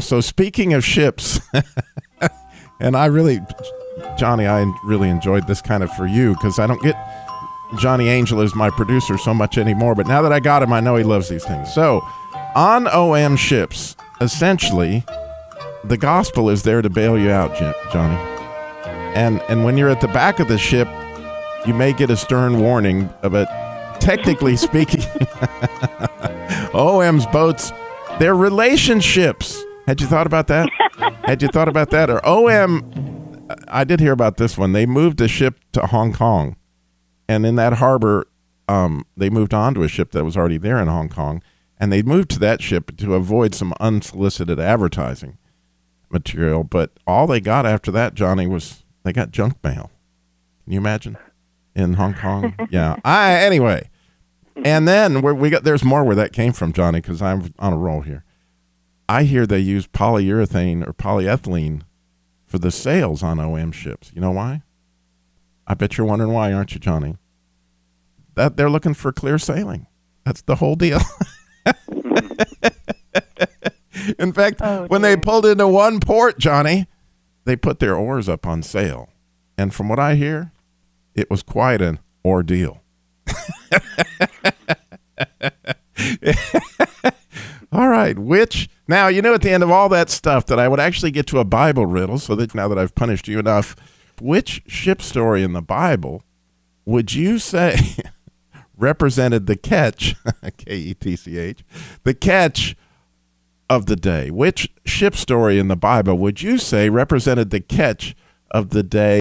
So speaking of ships, and Johnny, I really enjoyed this kind of for you because I don't get Johnny Angel as my producer so much anymore. But now that I got him, I know he loves these things. So on OM ships, essentially, the gospel is there to bail you out, Johnny. And when you're at the back of the ship, you may get a stern warning, but technically speaking, OM's boats, they're relationships. Had you thought about that? Or OM, I did hear about this one. They moved a ship to Hong Kong. And in that harbor, they moved on to a ship that was already there in Hong Kong. And they moved to that ship to avoid some unsolicited advertising material. But all they got after that, Johnny, was they got junk mail. Can you imagine? In Hong Kong? Yeah. Anyway. And then there's more where that came from, Johnny, because I'm on a roll here. I hear they use polyurethane or polyethylene for the sails on OM ships. You know why? I bet you're wondering why, aren't you, Johnny? That they're looking for clear sailing. That's the whole deal. In fact, when they pulled into one port, Johnny, they put their oars up on sail. And from what I hear, it was quite an ordeal. All right, now, at the end of all that stuff that I would actually get to a Bible riddle, so that now that I've punished you enough, which ship story in the Bible would you say represented the catch, K-E-T-C-H, the catch of the day? Which ship story in the Bible would you say represented the catch of the day?